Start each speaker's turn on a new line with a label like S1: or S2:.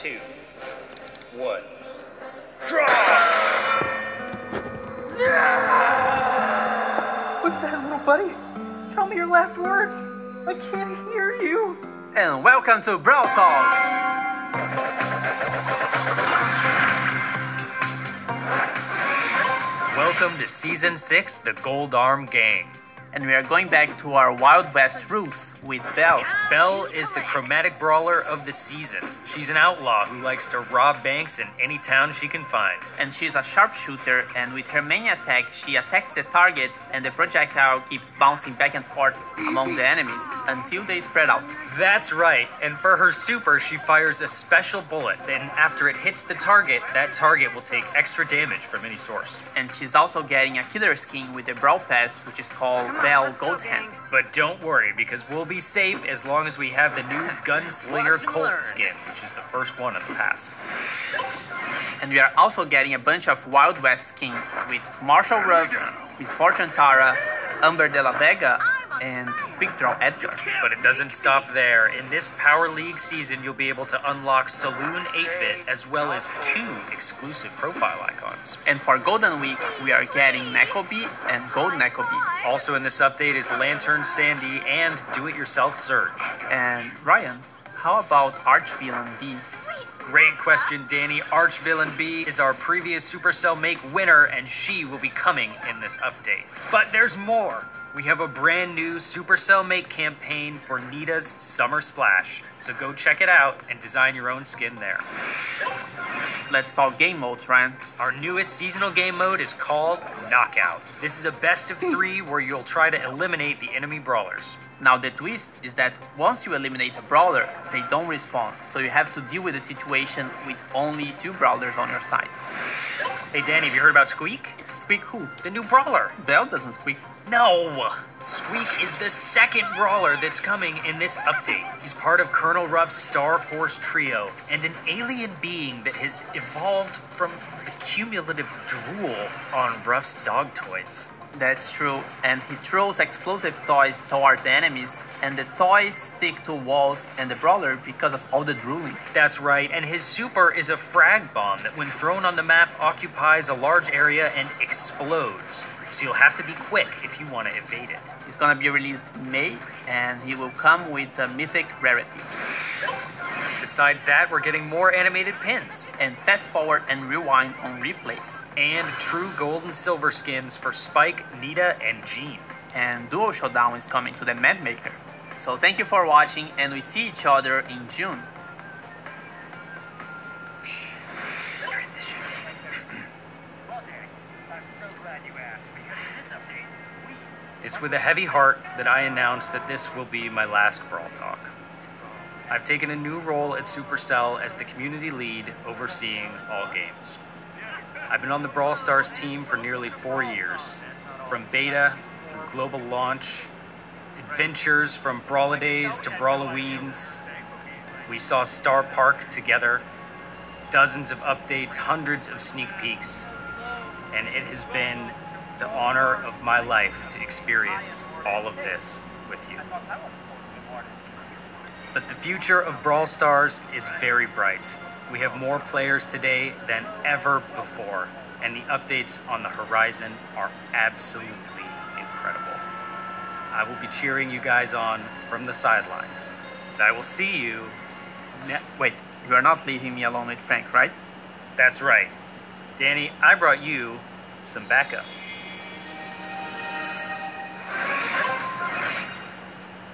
S1: 2, 1. Draw!
S2: What's that, little buddy? Tell me your last words. I can't hear you.
S3: And welcome to Brawl Talk.
S1: Welcome to Season 6, The Gold Arm Gang.
S3: And we are going back to our Wild West roots with Belle.
S1: Belle is the chromatic brawler of the season. She's an outlaw who likes to rob banks in any town she can find.
S3: And she's a sharpshooter, and with her main attack, she attacks the target, and the projectile keeps bouncing back and forth among the enemies until they spread out.
S1: That's right, and for her super, she fires a special bullet. Then after it hits the target, that target will take extra damage from any source.
S3: And she's also getting a killer skin with the Brawl Pass, which is called Belle Gold Hand.
S1: But don't worry, because we'll be safe as long as we have the new Gunslinger Colt skin, which is the first one in the pass.
S3: And we are also getting a bunch of Wild West skins with Marshall Ruff, Miss Fortune Tara, Amber de la Vega, and Quick Draw Edgar.
S1: But it doesn't stop there. In this Power League season, you'll be able to unlock Saloon 8-Bit as well as 2 exclusive profile icons.
S3: And for Golden Week, we are getting Nekobi and Gold Nekobi.
S1: Also in this update is Lantern Sandy and Do-It-Yourself Surge.
S3: And Ryan, how about Archvillain B?
S1: Great question, Danny. Archvillain B is our previous Supercell Make winner, and she will be coming in this update. But there's more. We have a brand new Supercell Make campaign for Nita's Summer Splash. So go check it out and design your own skin there.
S3: Let's talk game modes, Ryan.
S1: Our newest seasonal game mode is called Knockout. This is a best of 3 where you'll try to eliminate the enemy brawlers.
S3: Now the twist is that once you eliminate a brawler, they don't respawn. So you have to deal with the situation with only 2 brawlers on your side.
S1: Hey Danny, have you heard about Squeak?
S3: Squeak who?
S1: The new brawler.
S3: Belle doesn't squeak.
S1: No! Squeak is the second brawler that's coming in this update. He's part of Colonel Ruff's Star Force trio and an alien being that has evolved from the cumulative drool on Ruff's dog toys.
S3: That's true, and he throws explosive toys towards enemies, and the toys stick to walls and the brawler because of all the drooling.
S1: That's right, and his super is a frag bomb that when thrown on the map occupies a large area and explodes. So you'll have to be quick if you want to evade it.
S3: He's gonna be released in May, and he will come with a mythic rarity.
S1: Besides that, we're getting more animated pins.
S3: And fast forward and rewind on replays.
S1: And true gold and silver skins for Spike, Nita, and Jean.
S3: And Duo Showdown is coming to the map maker. So thank you for watching, and we see each other in June.
S1: Transition. Well, Danny, I'm so glad you asked, because in this update, it's with a heavy heart that I announce that this will be my last Brawl Talk. I've taken a new role at Supercell as the community lead overseeing all games. I've been on the Brawl Stars team for nearly 4 years, from beta through global launch, adventures from Brawladays to Brawloweens. We saw Star Park together, dozens of updates, hundreds of sneak peeks, and it has been the honor of my life to experience all of this with you. But the future of Brawl Stars is very bright. We have more players today than ever before, and the updates on the horizon are absolutely incredible. I will be cheering you guys on from the sidelines. And I will see you
S3: Wait, you are not leaving me alone with Frank, right?
S1: That's right. Danny, I brought you some backup.